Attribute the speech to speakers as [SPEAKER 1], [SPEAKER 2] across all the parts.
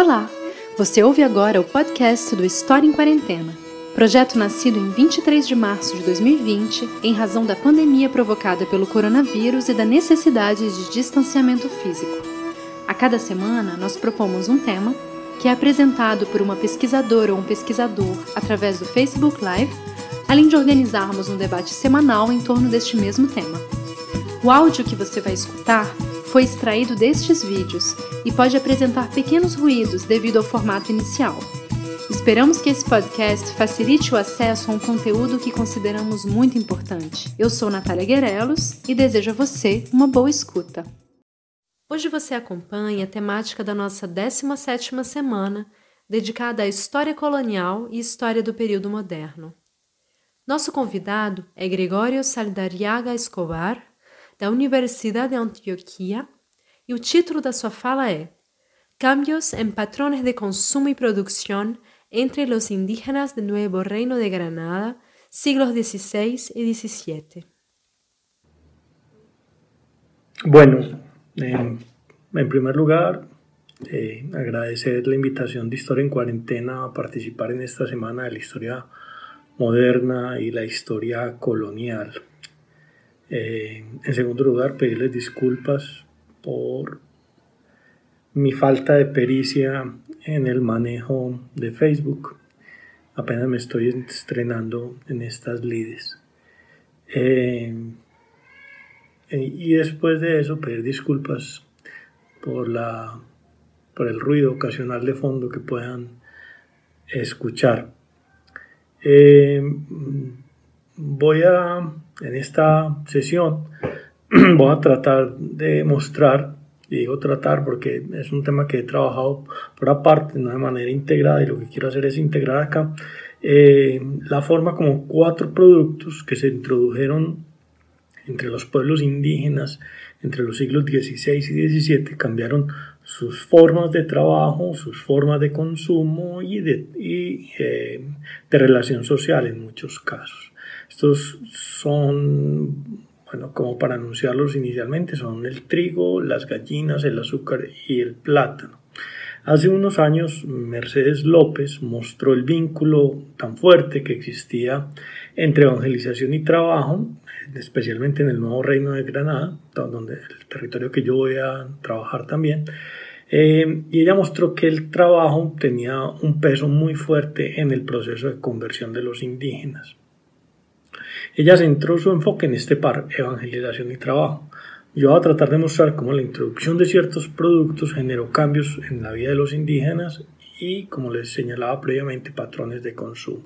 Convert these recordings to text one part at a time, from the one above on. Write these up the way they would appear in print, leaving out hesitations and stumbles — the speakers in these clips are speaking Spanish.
[SPEAKER 1] Olá! Você ouve agora o podcast do História em Quarentena, projeto nascido em 23 de março de 2020 em razão da pandemia provocada pelo coronavírus e da necessidade de distanciamento físico. A cada semana, nós propomos um tema que é apresentado por uma pesquisadora ou um pesquisador através do Facebook Live, além de organizarmos um debate semanal em torno deste mesmo tema. O áudio que você vai escutar foi extraído destes vídeos e pode apresentar pequenos ruídos devido ao formato inicial. Esperamos que esse podcast facilite o acesso a um conteúdo que consideramos muito importante. Eu sou Natália Guerelos e desejo a você uma boa escuta. Hoje você acompanha a temática da nossa 17ª semana, dedicada à história colonial e história do período moderno. Nosso convidado é Gregorio Saldarriaga Escobar, da Universidade de Antioquia, e o título da sua fala é Cambios en patrones de consumo y producción entre los indígenas del Nuevo Reino de Granada, siglos XVI y XVII.
[SPEAKER 2] Bueno, en primer lugar, agradecer la invitación de Historia en Cuarentena a participar en esta semana de la historia moderna y la historia colonial. En segundo lugar, pedirles disculpas por mi falta de pericia en el manejo de Facebook. Apenas me estoy estrenando en estas lides. Y después de eso, pedir disculpas por el ruido ocasional de fondo que puedan escuchar. En esta sesión voy a tratar de mostrar, y digo tratar porque es un tema que he trabajado por aparte, no de manera integrada, y lo que quiero hacer es integrar acá la forma como 4 productos que se introdujeron entre los pueblos indígenas entre los siglos XVI y XVII cambiaron sus formas de trabajo, sus formas de consumo y de relación social en muchos casos. Estos son, como para anunciarlos inicialmente, son el trigo, las gallinas, el azúcar y el plátano. Hace unos años, Mercedes López mostró el vínculo tan fuerte que existía entre evangelización y trabajo, especialmente en el Nuevo Reino de Granada, donde el territorio que yo voy a trabajar también. Y ella mostró que el trabajo tenía un peso muy fuerte en el proceso de conversión de los indígenas. Ella centró su enfoque en este par, evangelización y trabajo. Yo voy a tratar de mostrar cómo la introducción de ciertos productos generó cambios en la vida de los indígenas y, como les señalaba previamente, patrones de consumo.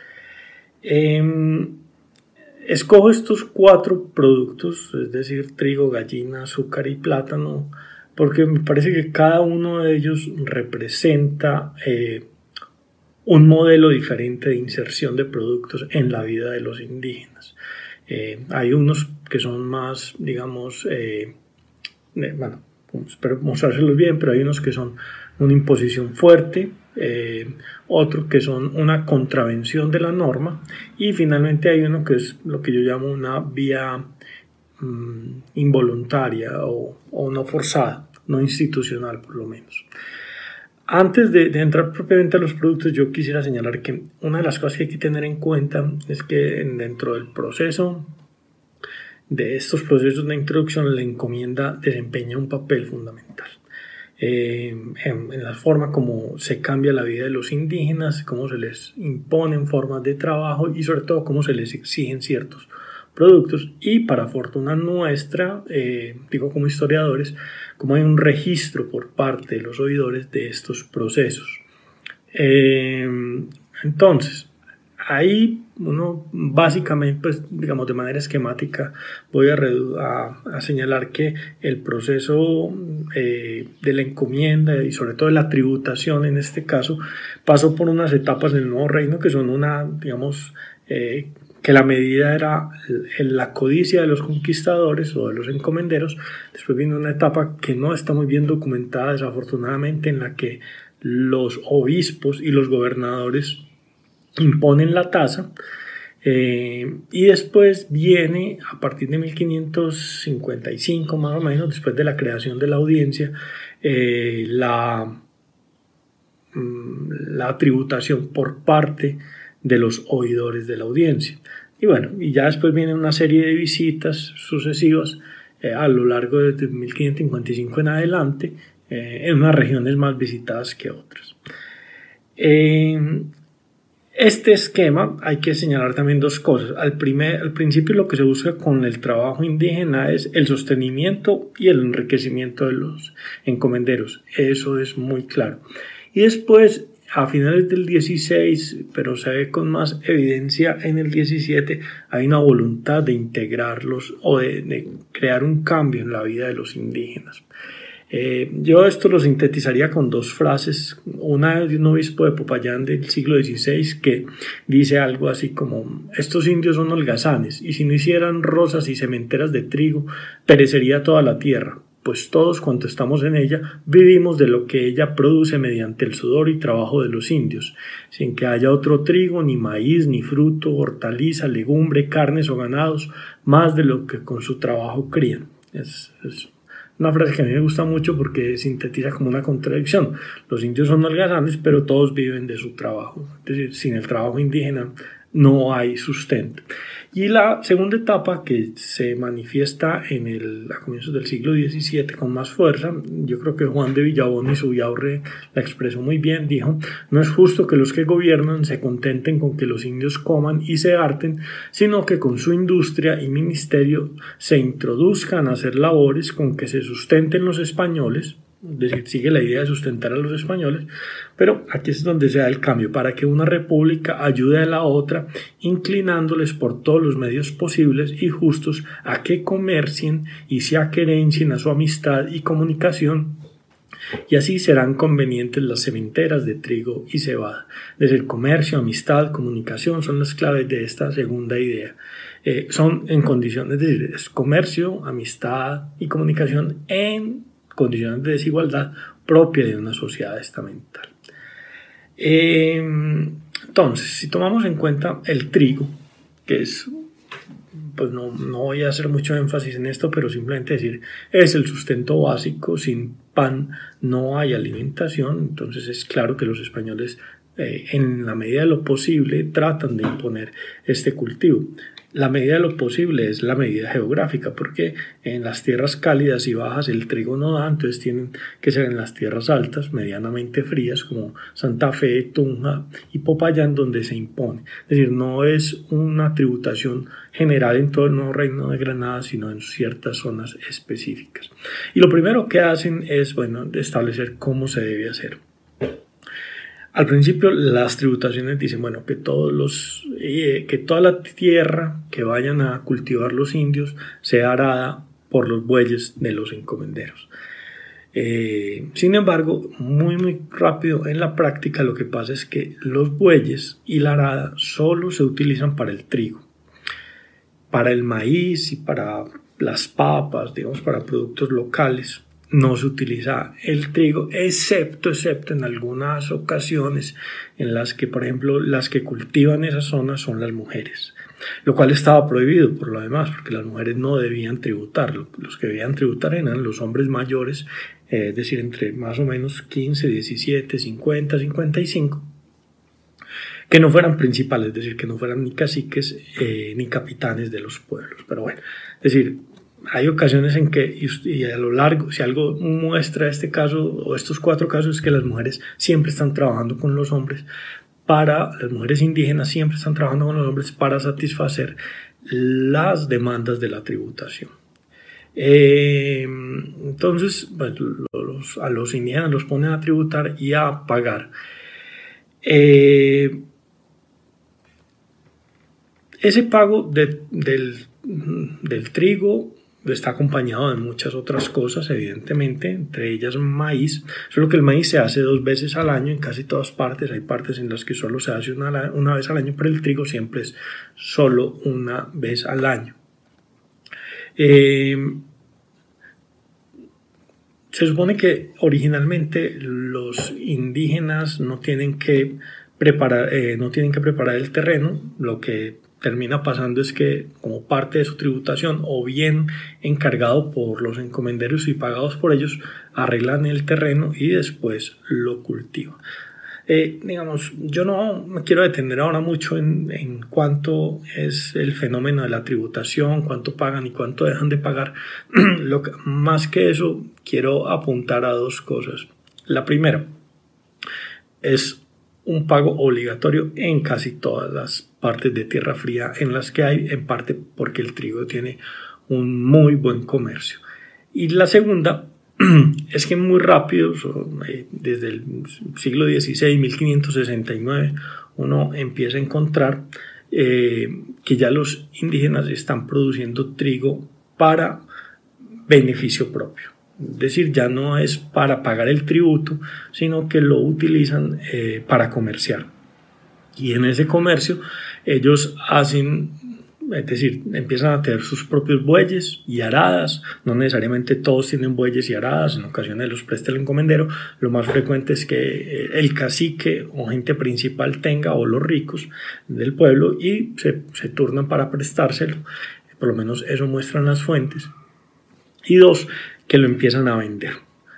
[SPEAKER 2] Escojo estos 4 productos, es decir, trigo, gallina, azúcar y plátano, porque me parece que cada uno de ellos representa un modelo diferente de inserción de productos en la vida de los indígenas. Hay unos que son más, digamos, espero mostrárselos bien, pero hay unos que son una imposición fuerte, otros que son una contravención de la norma, y finalmente hay uno que es lo que yo llamo una vía involuntaria o no forzada, no institucional por lo menos. Antes de entrar propiamente a los productos, yo quisiera señalar que una de las cosas que hay que tener en cuenta es que dentro del proceso de estos procesos de introducción, la encomienda desempeña un papel fundamental en la forma como se cambia la vida de los indígenas, cómo se les imponen formas de trabajo y sobre todo cómo se les exigen ciertos productos. Y para fortuna nuestra, digo como historiadores, como hay un registro por parte de los oidores de estos procesos. Entonces, ahí uno básicamente, pues, digamos de manera esquemática, voy a señalar que el proceso de la encomienda y sobre todo de la tributación en este caso pasó por unas etapas del Nuevo Reino que son que la medida era la codicia de los conquistadores o de los encomenderos. Después vino una etapa que no está muy bien documentada, desafortunadamente, en la que los obispos y los gobernadores imponen la tasa. Y después viene, a partir de 1555 más o menos, después de la creación de la audiencia, la la tributación por parte de los oidores de la audiencia. Y bueno, y ya después viene una serie de visitas sucesivas a lo largo de 1555 en adelante, en unas regiones más visitadas que otras. Este esquema hay que señalar también dos cosas. Al principio lo que se busca con el trabajo indígena es el sostenimiento y el enriquecimiento de los encomenderos. Eso es muy claro. Y después, a finales del 16, pero se ve con más evidencia en el 17, hay una voluntad de integrarlos o de crear un cambio en la vida de los indígenas. Yo esto lo sintetizaría con dos frases, una de un obispo de Popayán del siglo XVI que dice algo así como: estos indios son holgazanes, y si no hicieran rosas y sementeras de trigo, perecería toda la tierra, pues todos cuantos estamos en ella vivimos de lo que ella produce mediante el sudor y trabajo de los indios, sin que haya otro trigo, ni maíz, ni fruto, hortaliza, legumbre, carnes o ganados, más de lo que con su trabajo crían. Es una frase que a mí me gusta mucho porque sintetiza como una contradicción. Los indios son holgazanes, pero todos viven de su trabajo. Es decir, sin el trabajo indígena no hay sustento. Y la segunda etapa, que se manifiesta a comienzos del siglo XVII con más fuerza, yo creo que Juan de Villabón y Zubiaurre la expresó muy bien. Dijo: no es justo que los que gobiernan se contenten con que los indios coman y se harten, sino que con su industria y ministerio se introduzcan a hacer labores con que se sustenten los españoles. Es decir, sigue la idea de sustentar a los españoles, pero aquí es donde se da el cambio, para que una república ayude a la otra, inclinándoles por todos los medios posibles y justos a que comercien y se aquerencien a su amistad y comunicación, y así serán convenientes las sementeras de trigo y cebada. Desde el comercio, amistad, comunicación son las claves de esta segunda idea. Son en condiciones, es decir, es comercio, amistad y comunicación en condiciones de desigualdad propia de una sociedad estamental. Entonces, si tomamos en cuenta el trigo, que es, pues no voy a hacer mucho énfasis en esto, pero simplemente decir, es el sustento básico. Sin pan no hay alimentación. Entonces es claro que los españoles, en la medida de lo posible, tratan de imponer este cultivo. La medida de lo posible es la medida geográfica, porque en las tierras cálidas y bajas el trigo no da, entonces tienen que ser en las tierras altas, medianamente frías, como Santa Fe, Tunja y Popayán, donde se impone. Es decir, no es una tributación general en todo el Nuevo Reino de Granada, sino en ciertas zonas específicas. Y lo primero que hacen es, establecer cómo se debe hacer. Al principio las tributaciones dicen, que toda la tierra que vayan a cultivar los indios sea arada por los bueyes de los encomenderos. Sin embargo, muy rápido en la práctica lo que pasa es que los bueyes y la arada solo se utilizan para el trigo. Para el maíz y para las papas, para productos locales, no se utiliza el trigo, excepto en algunas ocasiones en las que, por ejemplo, las que cultivan esa zona son las mujeres, lo cual estaba prohibido por lo demás, porque las mujeres no debían tributar. Los que debían tributar eran los hombres mayores, es decir, entre más o menos 15, 17, 50, 55, que no fueran principales, es decir, que no fueran ni caciques ni capitanes de los pueblos. Pero bueno, es decir, hay ocasiones en que, y a lo largo, si algo muestra este caso o estos 4 casos, es que las mujeres siempre están trabajando con los hombres, las mujeres indígenas siempre están trabajando con los hombres para satisfacer las demandas de la tributación. Entonces, a los indígenas los ponen a tributar y a pagar. Ese pago del trigo está acompañado de muchas otras cosas, evidentemente, entre ellas maíz, solo que el maíz se hace 2 veces al año en casi todas partes. Hay partes en las que solo se hace una vez al año, pero el trigo siempre es solo una vez al año. Se supone que originalmente los indígenas no tienen que preparar el terreno. Lo que termina pasando es que, como parte de su tributación, o bien encargado por los encomenderos y pagados por ellos, arreglan el terreno y después lo cultivan. Digamos, yo no me quiero detener ahora mucho en cuánto es el fenómeno de la tributación, cuánto pagan y cuánto dejan de pagar. Más que eso, quiero apuntar a dos cosas. La primera es un pago obligatorio en casi todas las partes de Tierra Fría en las que hay, en parte porque el trigo tiene un muy buen comercio. Y la segunda es que muy rápido, desde el siglo XVI, 1569, uno empieza a encontrar que ya los indígenas están produciendo trigo para beneficio propio. Es decir, ya no es para pagar el tributo, sino que lo utilizan para comerciar. Y en ese comercio ellos hacen, es decir, empiezan a tener sus propios bueyes y aradas. No necesariamente todos tienen bueyes y aradas, en ocasiones los presta el encomendero. Lo más frecuente es que el cacique o gente principal tenga, o los ricos del pueblo, y se turnan para prestárselo. Por lo menos eso muestran las fuentes. Y dos, que lo empiezan a vender.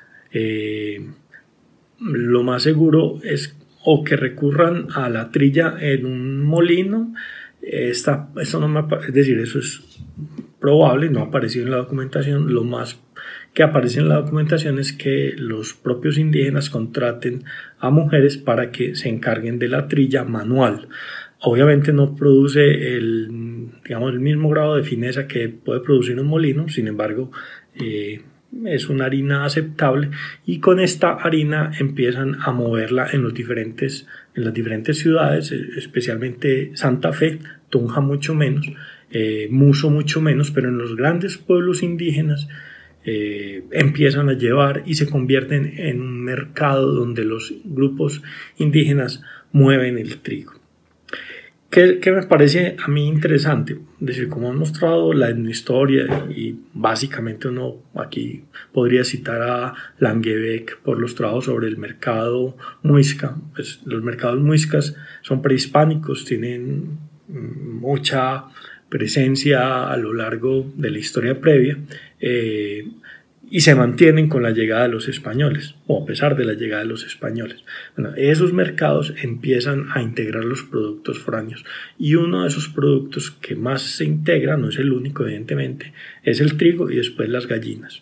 [SPEAKER 2] Lo más seguro es o que recurran a la trilla en un molino. Eso es decir, eso es probable, no ha aparecido en la documentación. Lo más que aparece en la documentación es que los propios indígenas contraten a mujeres para que se encarguen de la trilla manual. Obviamente no produce el mismo grado de fineza que puede producir un molino, sin embargo es una harina aceptable, y con esta harina empiezan a moverla en las diferentes ciudades, especialmente Santa Fe, Tunja mucho menos, Muso mucho menos, pero en los grandes pueblos indígenas empiezan a llevar y se convierten en un mercado donde los grupos indígenas mueven el trigo. ¿Qué me parece a mí interesante? Es decir, como han mostrado la etnohistoria, y básicamente uno aquí podría citar a Langebeck por los trabajos sobre el mercado muisca. Pues los mercados muiscas son prehispánicos, tienen mucha presencia a lo largo de la historia previa, y se mantienen con la llegada de los españoles, o a pesar de la llegada de los españoles. Bueno, esos mercados empiezan a integrar los productos foráneos, y uno de esos productos que más se integra, no es el único evidentemente, es el trigo y después las gallinas.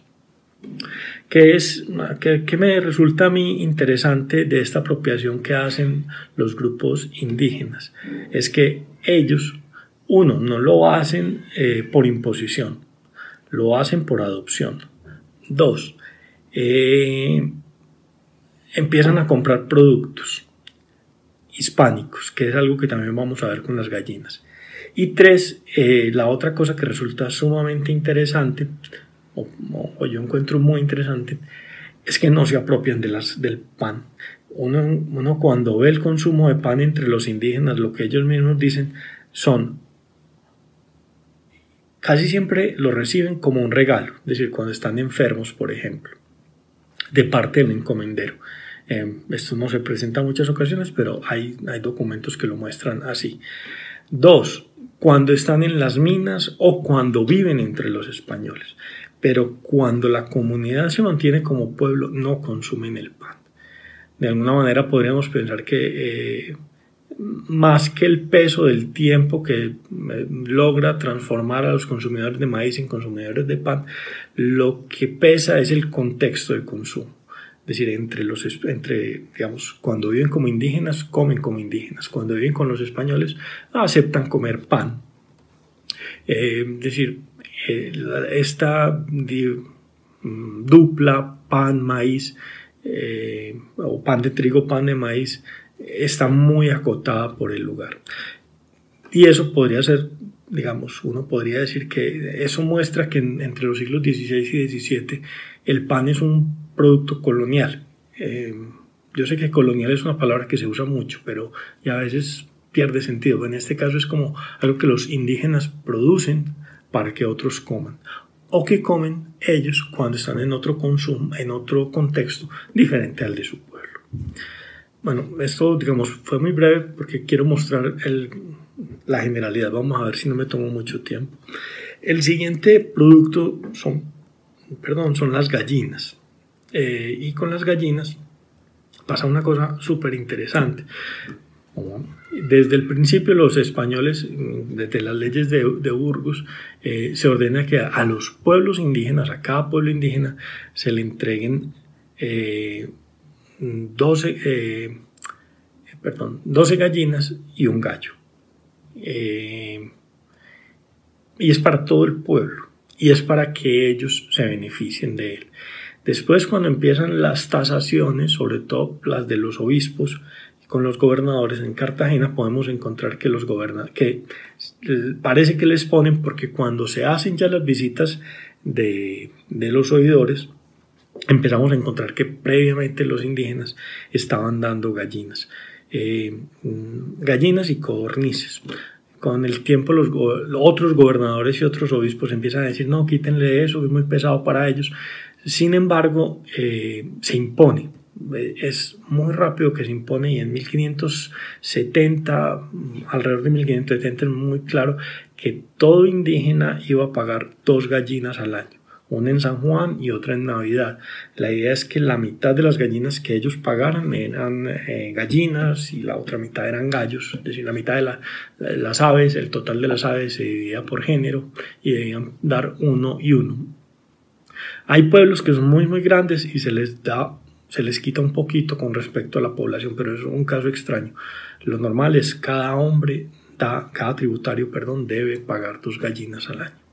[SPEAKER 2] ¿Qué me resulta a mí interesante de esta apropiación que hacen los grupos indígenas? Es que ellos, uno, no lo hacen por imposición, lo hacen por adopción. Dos, empiezan a comprar productos hispánicos, que es algo que también vamos a ver con las gallinas. Y tres, la otra cosa que resulta sumamente interesante, o yo encuentro muy interesante, es que no se apropian del pan. Uno cuando ve el consumo de pan entre los indígenas, lo que ellos mismos dicen casi siempre lo reciben como un regalo, es decir, cuando están enfermos, por ejemplo, de parte del encomendero. Esto no se presenta en muchas ocasiones, pero hay documentos que lo muestran así. Dos, cuando están en las minas o cuando viven entre los españoles. Pero cuando la comunidad se mantiene como pueblo, no consumen el pan. De alguna manera podríamos pensar que más que el peso del tiempo que logra transformar a los consumidores de maíz en consumidores de pan, lo que pesa es el contexto de consumo. Es decir, cuando viven como indígenas, comen como indígenas. Cuando viven con los españoles, aceptan comer pan. Es decir, esta dupla pan-maíz, o pan de trigo, pan de maíz, está muy acotada por el lugar. Y eso podría ser, uno podría decir que eso muestra que entre los siglos XVI y XVII el pan es un producto colonial. Yo sé que colonial es una palabra que se usa mucho, pero ya a veces pierde sentido. En este caso es como algo que los indígenas producen para que otros coman, o que comen ellos cuando están en otro consumo, en otro contexto diferente al de su pueblo. Bueno, esto fue muy breve porque quiero mostrar la generalidad. Vamos a ver si no me tomo mucho tiempo. El siguiente producto son las gallinas. Y con las gallinas pasa una cosa súper interesante. Desde el principio los españoles, desde las leyes de Burgos, se ordena que a los pueblos indígenas, a cada pueblo indígena, se le entreguen 12 gallinas y un gallo. Y es para todo el pueblo, y es para que ellos se beneficien de él. Después, cuando empiezan las tasaciones, sobre todo las de los obispos, con los gobernadores en Cartagena, podemos encontrar que parece que les ponen, porque cuando se hacen ya las visitas de los oidores, empezamos a encontrar que previamente los indígenas estaban dando gallinas y codornices. Con el tiempo los otros gobernadores y otros obispos empiezan a decir, no, quítenle eso, es muy pesado para ellos. Sin embargo, se impone. Es muy rápido que se impone, y en 1570, alrededor de 1570, es muy claro que todo indígena iba a pagar 2 gallinas al año, una en San Juan y otra en Navidad. La idea es que la mitad de las gallinas que ellos pagaran eran gallinas y la otra mitad eran gallos, es decir, la mitad de las aves, el total de las aves se dividía por género y debían dar 1 y 1. Hay pueblos que son muy grandes y se les quita un poquito con respecto a la población, pero es un caso extraño. Lo normal es cada tributario debe pagar 2 gallinas al año.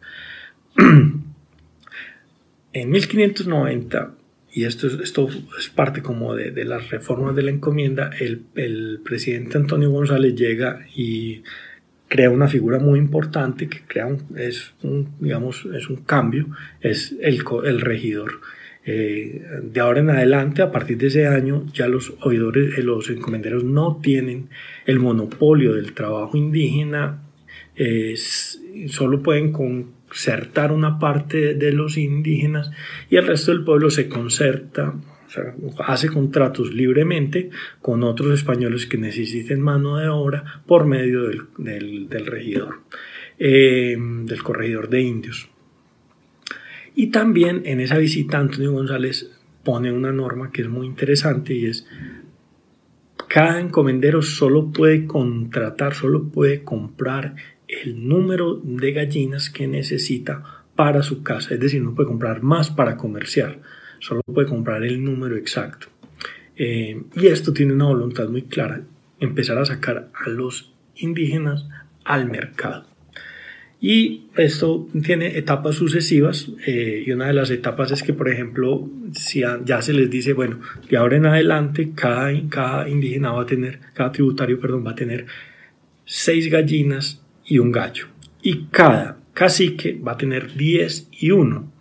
[SPEAKER 2] En 1590, y esto es parte como de las reformas de la encomienda, el presidente Antonio González llega y crea una figura muy importante que es un cambio, es el regidor. De ahora en adelante, a partir de ese año, ya los oidores, los encomenderos no tienen el monopolio del trabajo indígena, solo pueden concertar una parte de los indígenas y el resto del pueblo se concerta, o sea, hace contratos libremente con otros españoles que necesiten mano de obra por medio del regidor, del corregidor de indios. Y también en esa visita Antonio González pone una norma que es muy interesante, y es: cada encomendero solo puede comprar el número de gallinas que necesita para su casa, es decir, no puede comprar más para comerciar, solo puede comprar el número exacto. Y esto tiene una voluntad muy clara: empezar a sacar a los indígenas al mercado. Y esto tiene etapas sucesivas, y una de las etapas es que, por ejemplo, si ya se les dice, bueno, de ahora en adelante cada indígena cada tributario va a tener 6 gallinas y un gallo, y cada cacique va a tener 10 y 1.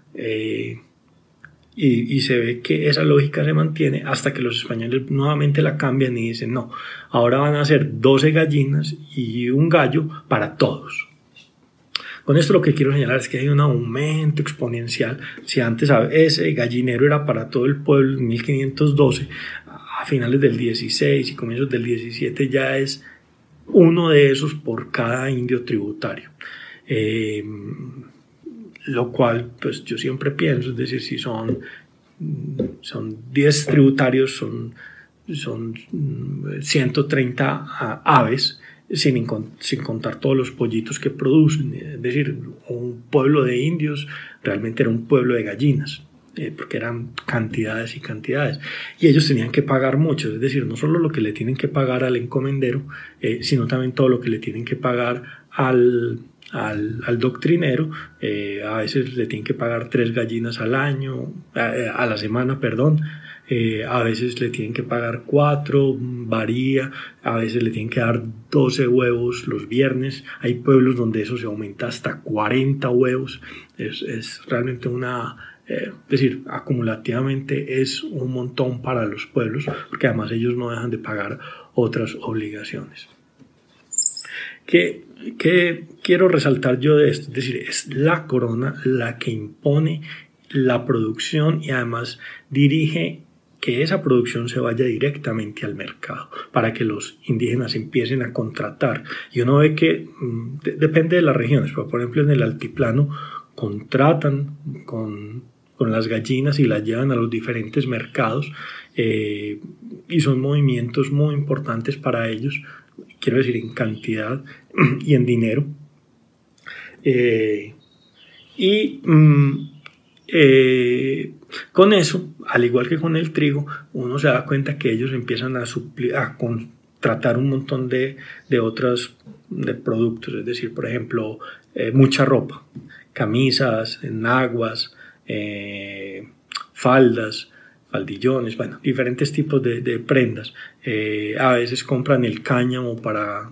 [SPEAKER 2] Y se ve que esa lógica se mantiene hasta que los españoles nuevamente la cambian y dicen, no, ahora van a ser 12 gallinas y un gallo para todos. Con esto lo que quiero señalar es que hay un aumento exponencial. Si antes ese gallinero era para todo el pueblo en 1512, a finales del 16 y comienzos del 17 ya es uno de esos por cada indio tributario. Lo cual, pues yo siempre pienso, es decir, si son 10 tributarios, son 130 aves, sin contar todos los pollitos que producen. Es decir, un pueblo de indios realmente era un pueblo de gallinas, porque eran cantidades y cantidades, y ellos tenían que pagar mucho, es decir, no solo lo que le tienen que pagar al encomendero, sino también todo lo que le tienen que pagar al doctrinero. A veces le tienen que pagar 3 gallinas a la semana, a veces le tienen que pagar 4, varía, a veces le tienen que dar 12 huevos los viernes. Hay pueblos donde eso se aumenta hasta 40 huevos. Es realmente es decir, acumulativamente es un montón para los pueblos, porque además ellos no dejan de pagar otras obligaciones. ¿Qué quiero resaltar yo de esto? Es decir, es la corona la que impone la producción y además dirige que esa producción se vaya directamente al mercado para que los indígenas empiecen a contratar. Y uno ve que depende de las regiones, pero por ejemplo en el altiplano contratan con con las gallinas y las llevan a los diferentes mercados, y son movimientos muy importantes para ellos, quiero decir en cantidad y en dinero. Con eso, al igual que con el trigo, uno se da cuenta que ellos empiezan a contratar un montón de otros productos, es decir, por ejemplo, mucha ropa, camisas, enaguas, faldas, faldillones, bueno, diferentes tipos de prendas. A veces compran el cáñamo para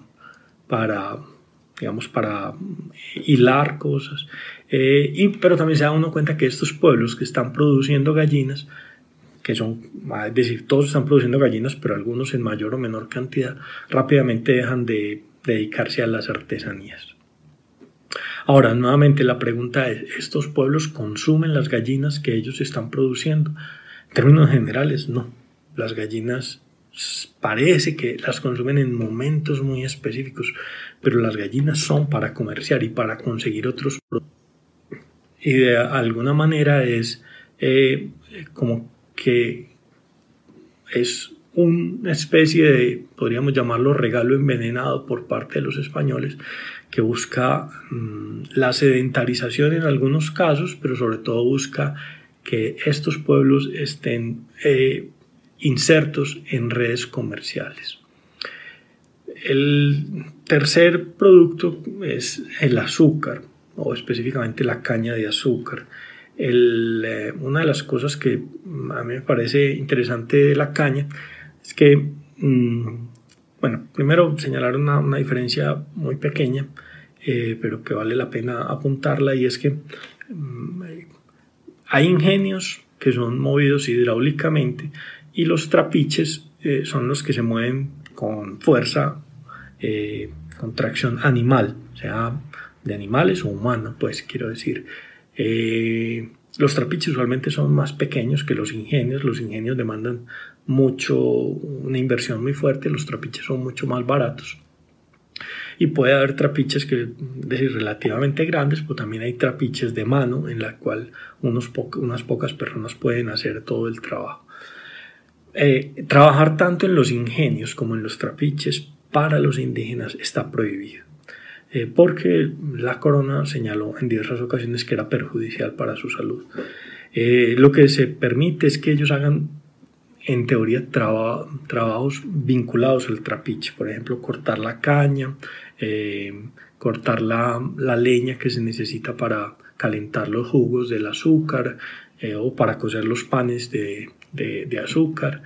[SPEAKER 2] hilar cosas, pero también se da uno cuenta que estos pueblos que están produciendo gallinas, es decir, todos están produciendo gallinas, pero algunos en mayor o menor cantidad, rápidamente dejan de dedicarse a las artesanías. Ahora, nuevamente la pregunta es, ¿estos pueblos consumen las gallinas que ellos están produciendo? En términos generales, no. Las gallinas parece que las consumen en momentos muy específicos, pero las gallinas son para comerciar y para conseguir otros productos. Y de alguna manera es como que es una especie de, podríamos llamarlo, regalo envenenado por parte de los españoles, que busca la sedentarización en algunos casos, pero sobre todo busca que estos pueblos estén insertos en redes comerciales. El tercer producto es el azúcar, o específicamente la caña de azúcar. Una de las cosas que a mí me parece interesante de la caña es que, bueno, primero señalar una diferencia muy pequeña, pero que vale la pena apuntarla, y es que hay ingenios que son movidos hidráulicamente y los trapiches son los que se mueven con fuerza, con tracción animal, o sea, de animales o humanos, pues quiero decir. Los trapiches usualmente son más pequeños que los ingenios demandan una inversión muy fuerte, los trapiches son mucho más baratos. Y puede haber trapiches que, es decir, relativamente grandes, pero también hay trapiches de mano en la cual unas pocas personas pueden hacer todo el trabajo. Trabajar tanto en los ingenios como en los trapiches para los indígenas está prohibido, porque la corona señaló en diversas ocasiones que era perjudicial para su salud. Lo que se permite es que ellos hagan, en teoría, trabajos vinculados al trapiche, por ejemplo, cortar la caña, cortar la leña que se necesita para calentar los jugos del azúcar, o para cocer los panes de azúcar,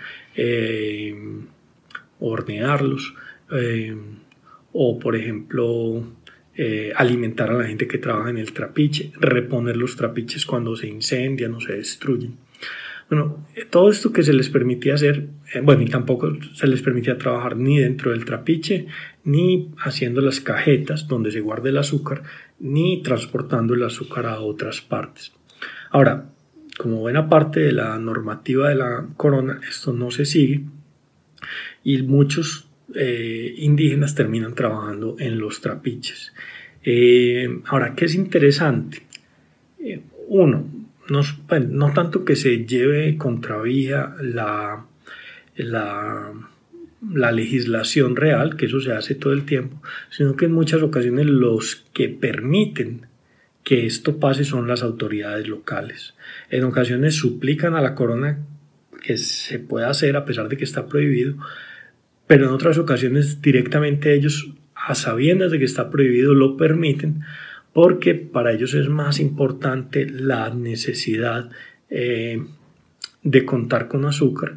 [SPEAKER 2] hornearlos, o por ejemplo alimentar a la gente que trabaja en el trapiche, reponer los trapiches cuando se incendian o se destruyen. Bueno, todo esto que se les permitía hacer, y tampoco se les permitía trabajar ni dentro del trapiche, ni haciendo las cajetas donde se guarda el azúcar, ni transportando el azúcar a otras partes. Ahora, como buena parte de la normativa de la corona, esto no se sigue, y muchos indígenas terminan trabajando en los trapiches. Ahora, ¿qué es interesante? Uno, no tanto que se lleve contravía la legislación real, que eso se hace todo el tiempo, sino que en muchas ocasiones los que permiten que esto pase son las autoridades locales. En ocasiones suplican a la corona que se pueda hacer a pesar de que está prohibido, pero en otras ocasiones directamente ellos, a sabiendas de que está prohibido, lo permiten, porque para ellos es más importante la necesidad de contar con azúcar.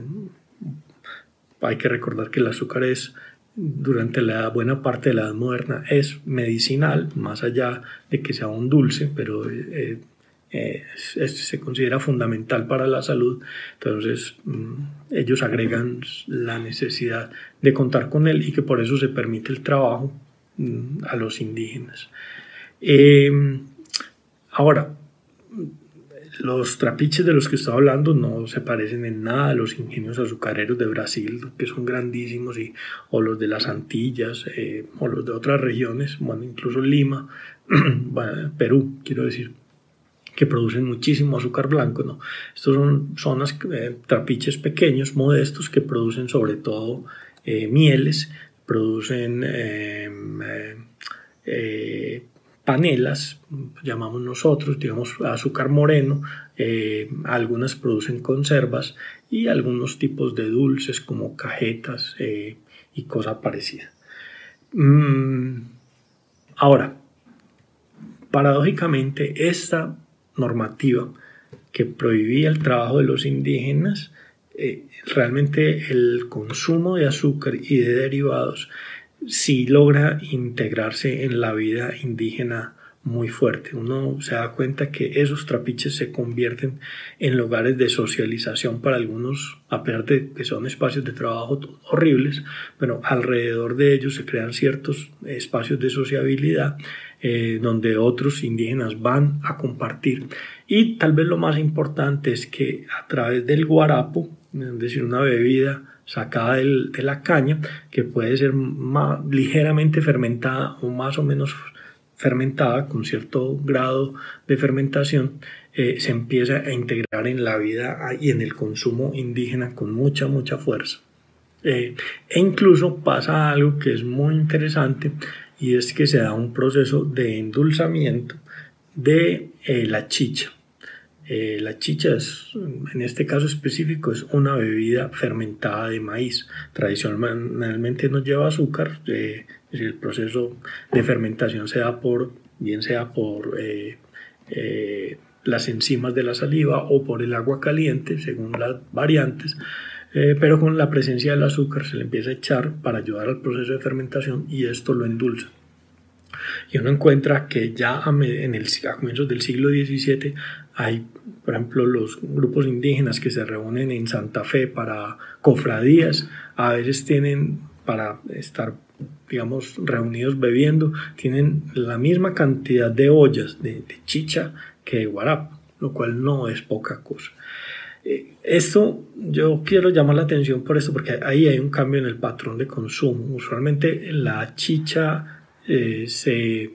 [SPEAKER 2] Hay que recordar que el azúcar durante la buena parte de la Edad Moderna es medicinal, más allá de que sea un dulce, pero se considera fundamental para la salud. Entonces ellos agregan la necesidad de contar con él y que por eso se permite el trabajo a los indígenas. Ahora, los trapiches de los que estoy hablando no se parecen en nada a los ingenios azucareros de Brasil, que son grandísimos, o los de las Antillas, o los de otras regiones, incluso Lima, Perú, quiero decir, que producen muchísimo azúcar blanco, ¿no? Estos son zonas, trapiches pequeños, modestos, que producen sobre todo mieles, producen panelas, llamamos nosotros, digamos azúcar moreno, algunas producen conservas y algunos tipos de dulces como cajetas y cosas parecidas. Ahora, paradójicamente, esta normativa que prohibía el trabajo de los indígenas, realmente el consumo de azúcar y de derivados sí logra integrarse en la vida indígena muy fuerte. Uno se da cuenta que esos trapiches se convierten en lugares de socialización para algunos, a pesar de que son espacios de trabajo horribles, pero alrededor de ellos se crean ciertos espacios de sociabilidad donde otros indígenas van a compartir. Y tal vez lo más importante es que a través del guarapo, es decir, una bebida sacada de la caña, que puede ser ligeramente fermentada o más o menos fermentada con cierto grado de fermentación, se empieza a integrar en la vida y en el consumo indígena con mucha fuerza. E incluso pasa algo que es muy interesante, y es que se da un proceso de endulzamiento de la chicha. La chicha en este caso específico, es una bebida fermentada de maíz. Tradicionalmente no lleva azúcar, el proceso de fermentación se da bien sea por las enzimas de la saliva o por el agua caliente, según las variantes, pero con la presencia del azúcar se le empieza a echar para ayudar al proceso de fermentación y esto lo endulza. Y uno encuentra que ya a comienzos del siglo XVII hay, por ejemplo, los grupos indígenas que se reúnen en Santa Fe para cofradías, a veces tienen, para estar, digamos, reunidos bebiendo, tienen la misma cantidad de ollas de chicha que de guarapo, lo cual no es poca cosa. Esto yo quiero llamar la atención por esto, porque ahí hay un cambio en el patrón de consumo. Usualmente la chicha se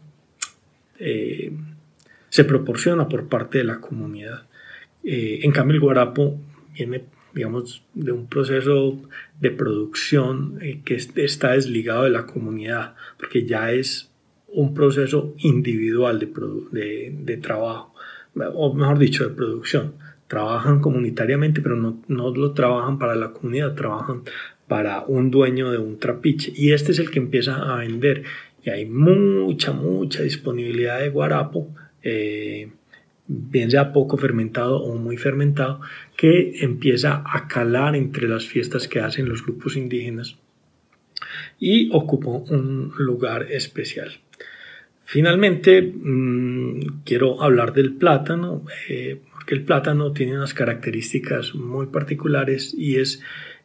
[SPEAKER 2] proporciona por parte de la comunidad. En cambio, el guarapo viene, digamos, de un proceso de producción que está desligado de la comunidad, porque ya es un proceso individual de trabajo, o mejor dicho, de producción. Trabajan comunitariamente, pero no lo trabajan para la comunidad, trabajan para un dueño de un trapiche, y este es el que empieza a vender, y hay mucha disponibilidad de guarapo, bien sea poco fermentado o muy fermentado, que empieza a calar entre las fiestas que hacen los grupos indígenas y ocupa un lugar especial. Finalmente, quiero hablar del plátano, porque el plátano tiene unas características muy particulares, y es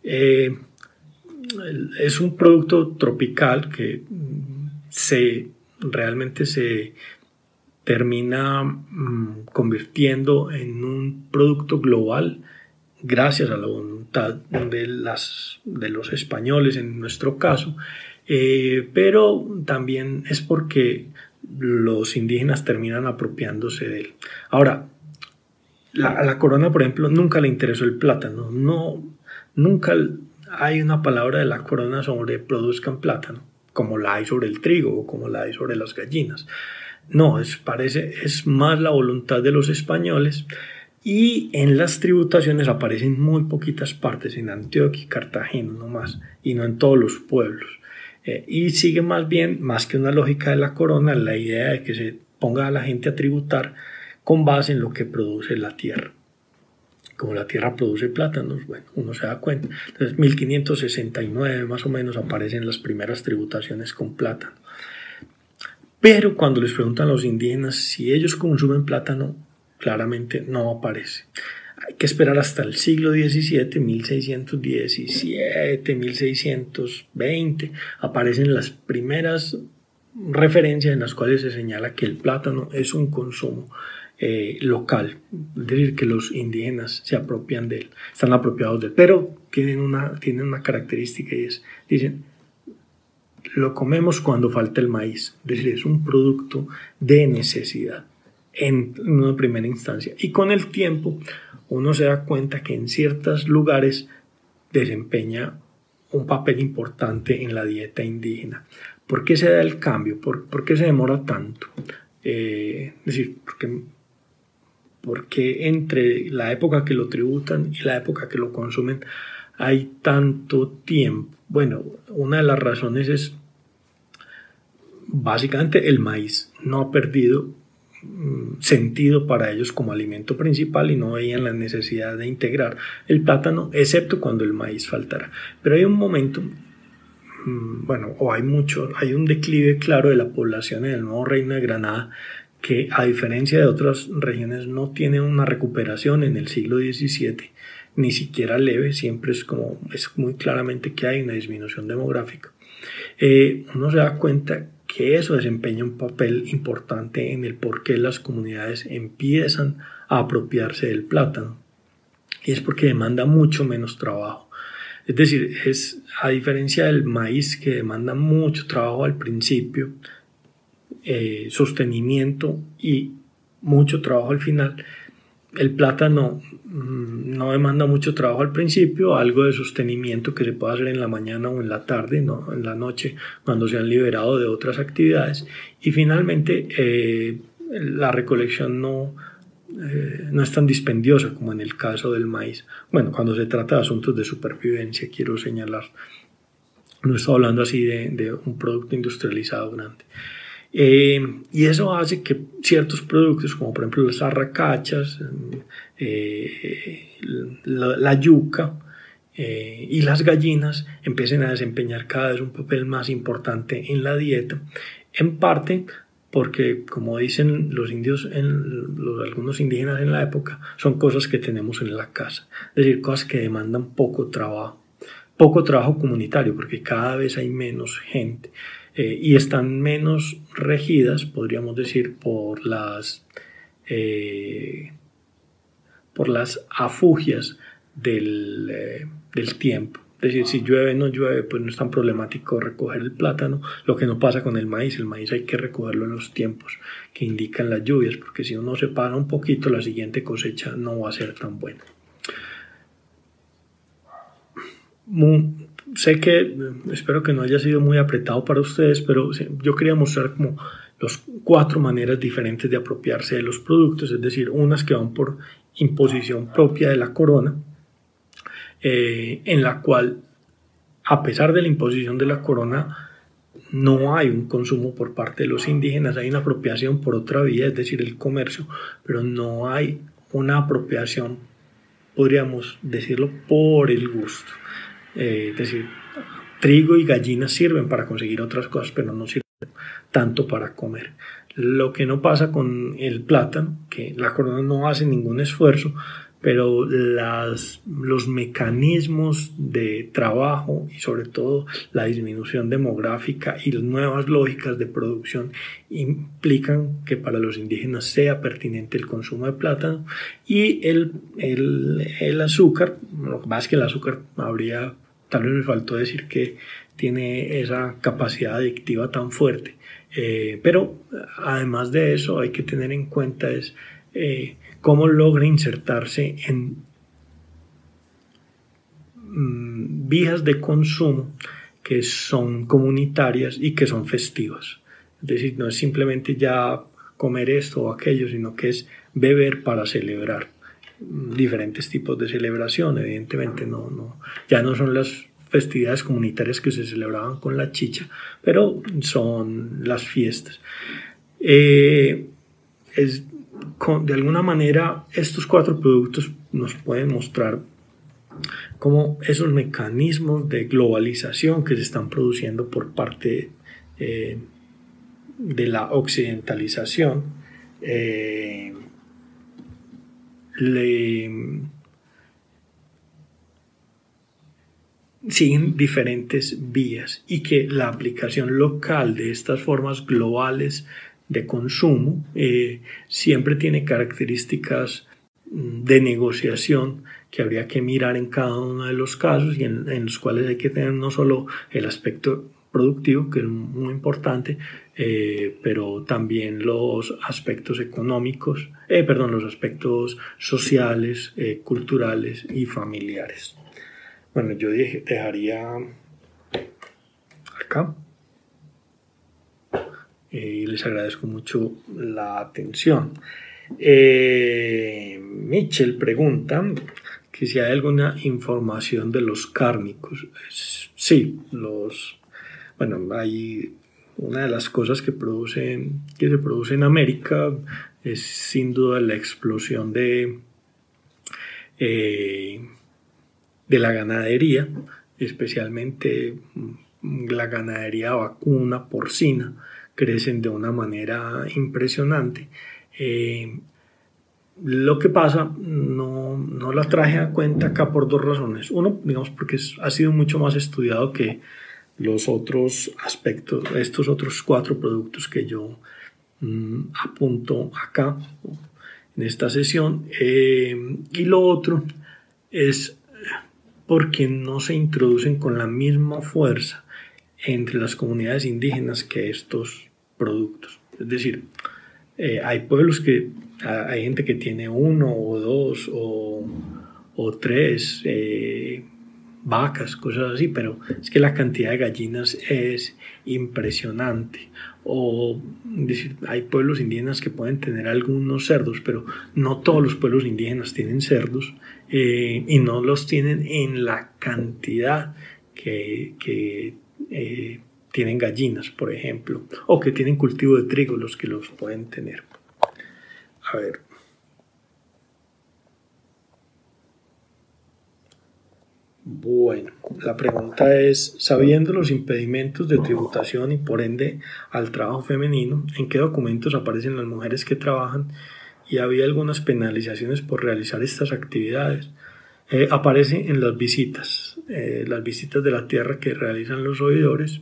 [SPEAKER 2] un producto tropical que realmente se termina convirtiendo en un producto global gracias a la voluntad de los españoles en nuestro caso, pero también es porque los indígenas terminan apropiándose de él. Ahora, a la corona, por ejemplo, nunca le interesó el plátano, nunca hay una palabra de la corona sobre produzcan plátano, como la hay sobre el trigo o como la hay sobre las gallinas. No, es más la voluntad de los españoles, y en las tributaciones aparecen muy poquitas partes, en Antioquia y Cartagena nomás, y no en todos los pueblos. Y sigue más que una lógica de la corona, la idea de que se ponga a la gente a tributar con base en lo que produce la tierra. Como la tierra produce plátanos, bueno, uno se da cuenta. Entonces, 1569 más o menos aparecen las primeras tributaciones con plátano. Pero cuando les preguntan a los indígenas si ellos consumen plátano, claramente no aparece. Hay que esperar hasta el siglo XVII, 1617, 1620, aparecen las primeras referencias en las cuales se señala que el plátano es un consumo local, es decir, que los indígenas se apropian de él, están apropiados de él, pero tienen una característica, y dicen, lo comemos cuando falta el maíz, es decir, es un producto de necesidad. en una primera instancia. Y con el tiempo uno se da cuenta que en ciertos lugares desempeña un papel importante en la dieta indígena. ¿Por qué se da el cambio? ¿Por qué se demora tanto? Es decir, porque entre la época que lo tributan y la época que lo consumen hay tanto tiempo. Bueno, una de las razones es básicamente el maíz no ha perdido sentido para ellos como alimento principal y no veían la necesidad de integrar el plátano, excepto cuando el maíz faltara. Pero hay un momento, hay un declive claro de la población en el nuevo Reino de Granada que, a diferencia de otras regiones, no tiene una recuperación en el siglo XVII, ni siquiera leve, siempre es muy claramente que hay una disminución demográfica. Uno se da cuenta que eso desempeña un papel importante en el por qué las comunidades empiezan a apropiarse del plátano, y es porque demanda mucho menos trabajo. Es decir, a diferencia del maíz, que demanda mucho trabajo al principio, sostenimiento y mucho trabajo al final, el plátano no demanda mucho trabajo al principio, algo de sostenimiento que se puede hacer en la mañana o en la tarde, no en la noche, cuando se han liberado de otras actividades, y finalmente la recolección no es tan dispendiosa como en el caso del maíz. Bueno, cuando se trata de asuntos de supervivencia, quiero señalar, no estoy hablando así de un producto industrializado grande. Y eso hace que ciertos productos, como por ejemplo las arracachas, la yuca y las gallinas, empiecen a desempeñar cada vez un papel más importante en la dieta, en parte porque, como dicen los indios, algunos indígenas en la época, son cosas que tenemos en la casa, es decir, cosas que demandan poco trabajo comunitario, porque cada vez hay menos gente. Y están menos regidas, podríamos decir, por las afugias del tiempo. Es decir, si llueve, no llueve, pues no es tan problemático recoger el plátano, lo que no pasa con el maíz hay que recogerlo en los tiempos que indican las lluvias, porque si uno se para un poquito, la siguiente cosecha no va a ser tan buena. Sé que espero que no haya sido muy apretado para ustedes, pero yo quería mostrar como las 4 maneras diferentes de apropiarse de los productos, es decir, unas que van por imposición propia de la corona, en la cual, a pesar de la imposición de la corona, no hay un consumo por parte de los indígenas, hay una apropiación por otra vía, es decir, el comercio, pero no hay una apropiación, podríamos decirlo, por el gusto. Es decir, trigo y gallinas sirven para conseguir otras cosas, pero no sirven tanto para comer. Lo que no pasa con el plátano, que la corona no hace ningún esfuerzo, pero los mecanismos de trabajo y sobre todo la disminución demográfica y las nuevas lógicas de producción implican que para los indígenas sea pertinente el consumo de plátano, y el azúcar. Lo que pasa es que el azúcar tal vez me faltó decir que tiene esa capacidad adictiva tan fuerte, pero además de eso hay que tener en cuenta cómo logra insertarse en vías de consumo que son comunitarias y que son festivas. Es decir, no es simplemente ya comer esto o aquello, sino que es beber para celebrar. Diferentes tipos de celebración, evidentemente ya no son las festividades comunitarias que se celebraban con la chicha, pero son las fiestas. De alguna manera, estos 4 productos nos pueden mostrar cómo esos mecanismos de globalización que se están produciendo por parte de la occidentalización siguen diferentes vías, y que la aplicación local de estas formas globales de consumo siempre tiene características de negociación que habría que mirar en cada uno de los casos, y en los cuales hay que tener no solo el aspecto productivo, que es muy importante, pero también los aspectos económicos, los aspectos sociales, culturales y familiares. Bueno, yo dejaría acá y les agradezco mucho la atención. Mitchell pregunta que si hay alguna información de los cárnicos. Sí, hay una de las cosas que se produce en América es sin duda la explosión de la ganadería, especialmente la ganadería vacuna, porcina, crecen de una manera impresionante. Lo que pasa, no la traje a cuenta acá por dos razones. Uno, digamos, porque ha sido mucho más estudiado que los otros aspectos, estos otros 4 productos que yo apunto acá en esta sesión. Y lo otro es porque no se introducen con la misma fuerza entre las comunidades indígenas que estos productos. Es decir, hay pueblos hay gente que tiene 1 o 2 o 3 vacas, cosas así, pero es que la cantidad de gallinas es impresionante. O decir, hay pueblos indígenas que pueden tener algunos cerdos, pero no todos los pueblos indígenas tienen cerdos, y no los tienen en la cantidad que tienen gallinas, por ejemplo, o que tienen cultivo de trigo, los que los pueden tener. A ver. Bueno, la pregunta es, sabiendo los impedimentos de tributación y por ende al trabajo femenino, ¿en qué documentos aparecen las mujeres que trabajan y había algunas penalizaciones por realizar estas actividades? Aparece en las visitas de la tierra que realizan los oidores.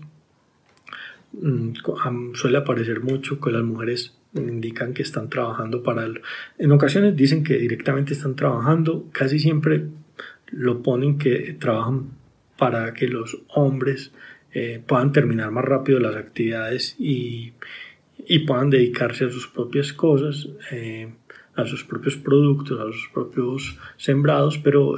[SPEAKER 2] Suele aparecer mucho que las mujeres indican que están trabajando en ocasiones dicen que directamente están trabajando, casi siempre lo ponen que trabajan para que los hombres puedan terminar más rápido las actividades y puedan dedicarse a sus propias cosas, a sus propios productos, a sus propios sembrados, pero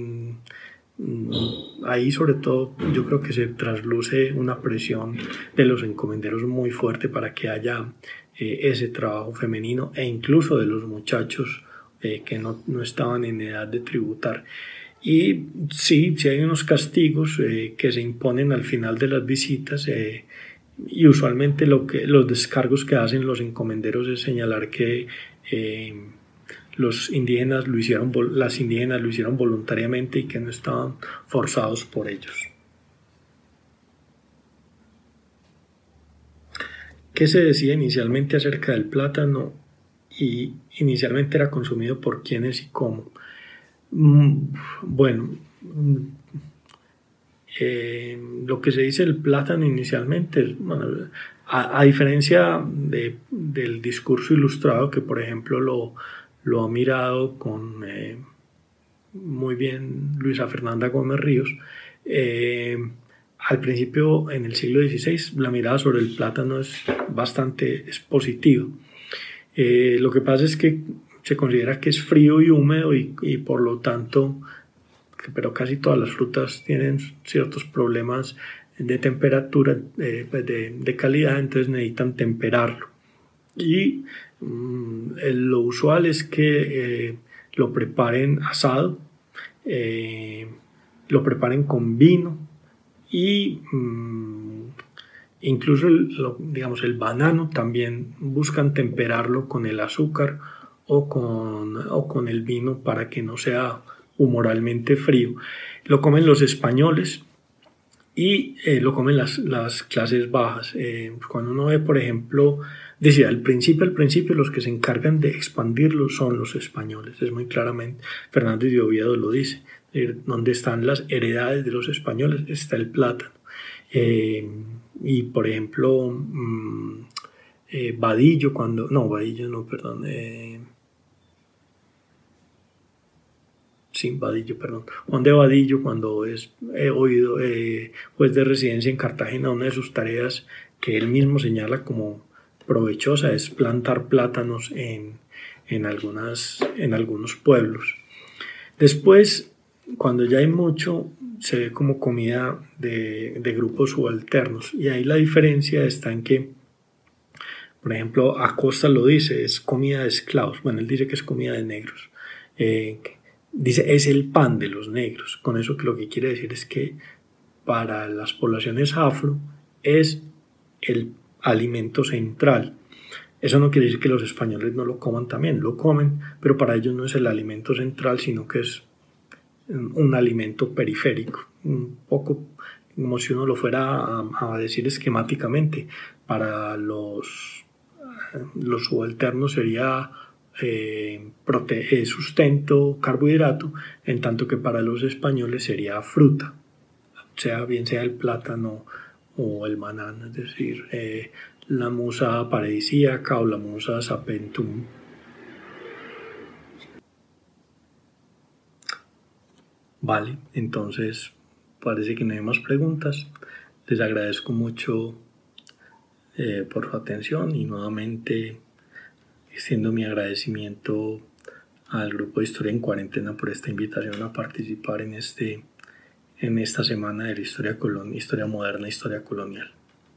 [SPEAKER 2] ahí sobre todo yo creo que se trasluce una presión de los encomenderos muy fuerte para que haya ese trabajo femenino e incluso de los muchachos que no estaban en edad de tributar. Y sí hay unos castigos que se imponen al final de las visitas, y usualmente los descargos que hacen los encomenderos es señalar que las indígenas lo hicieron voluntariamente y que no estaban forzados por ellos. ¿Qué se decía inicialmente acerca del plátano? Y inicialmente era consumido por quiénes y cómo. Bueno, lo que se dice del plátano inicialmente, a diferencia del discurso ilustrado que por ejemplo lo ha mirado con muy bien Luisa Fernanda Gómez Ríos, al principio en el siglo XVI la mirada sobre el plátano es bastante positiva. Lo que pasa es que se considera que es frío y húmedo y por lo tanto, pero casi todas las frutas tienen ciertos problemas de temperatura, de calidad, entonces necesitan temperarlo. Y lo usual es que lo preparen asado, lo preparen con vino y incluso el banano también buscan temperarlo con el azúcar o con el vino para que no sea humoralmente frío. Lo comen los españoles y lo comen las clases bajas. Cuando uno ve, por ejemplo, decía al principio los que se encargan de expandirlo son los españoles. Es muy claramente, Fernández de Oviedo lo dice, donde están las heredades de los españoles está el plátano. Y por ejemplo, Vadillo Juan de Vadillo, cuando es juez de residencia en Cartagena, una de sus tareas que él mismo señala como provechosa es plantar plátanos en algunos pueblos. Después, cuando ya hay mucho, se ve como comida de grupos subalternos, y ahí la diferencia está en que, por ejemplo, Acosta lo dice, es comida de esclavos. Bueno, él dice que es comida de negros. Dice, es el pan de los negros. Con eso que lo que quiere decir es que para las poblaciones afro es el alimento central. Eso no quiere decir que los españoles no lo coman también, lo comen, pero para ellos no es el alimento central, sino que es un alimento periférico, un poco como si uno lo fuera a decir esquemáticamente. Para los subalternos sería sustento, carbohidrato, en tanto que para los españoles sería fruta, bien sea el plátano o el banano, es decir, la musa paradisíaca o la musa sapentum. Vale, entonces parece que no hay más preguntas. Les agradezco mucho por su atención, y nuevamente extiendo mi agradecimiento al Grupo de Historia en Cuarentena por esta invitación a participar en esta semana de la historia moderna, historia colonial.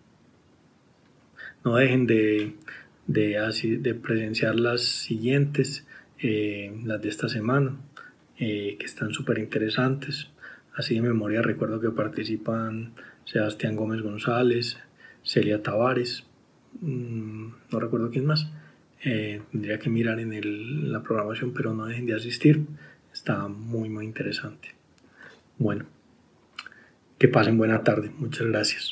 [SPEAKER 2] No dejen de presenciar las siguientes, las de esta semana, que están súper interesantes. Así de memoria recuerdo que participan Sebastián Gómez González, Celia Tavares, no recuerdo quién más. Tendría que mirar en la programación, pero no dejen de asistir, está muy muy interesante. Bueno, que pasen buena tarde, muchas gracias.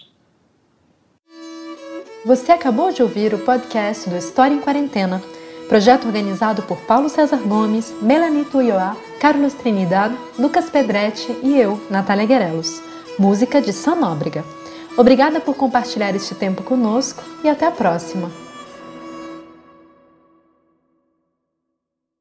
[SPEAKER 1] Você acabou de ouvir o podcast do História em Quarentena, projeto organizado por Paulo César Gomes, Melanie Tuioá, Carlos Trinidad, Lucas Pedretti e eu, Natália Guerelos. Música de Sam Nóbrega. Obrigada por compartilhar este tempo conosco e até a próxima!